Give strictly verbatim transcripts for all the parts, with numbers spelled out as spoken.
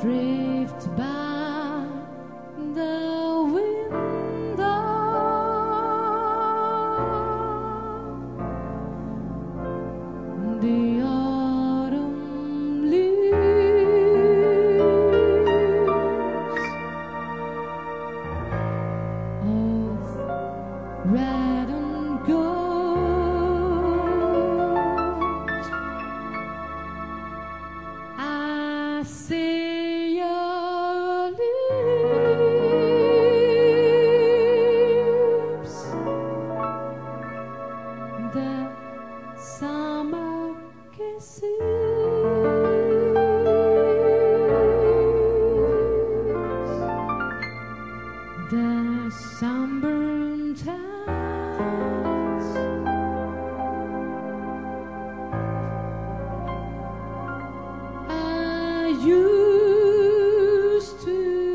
drift by the window. The autumn leaves of red and gold. I see your lips, the summer kisses, the sunburned hands. I used to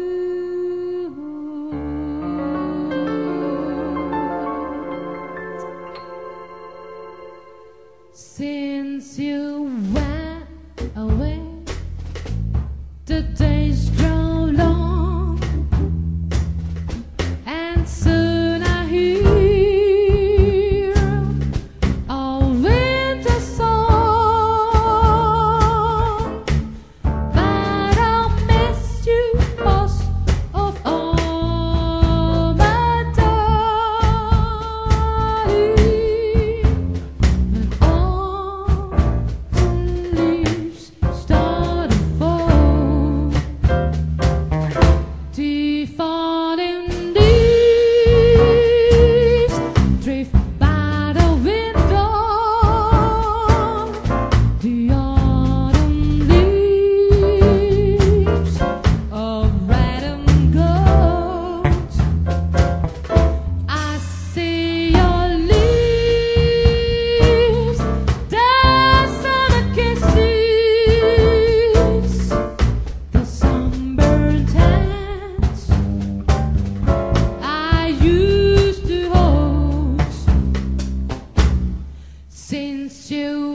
since you went away, the days grow long, and soon I hear a winter song. But I'll miss you most of all, my darling. When autumn leaves start to fall, the falling leaves drift by the window. The autumn leaves of red and gold. I see your lips, the summer kisses, the sunburned hands I used to hold. Since you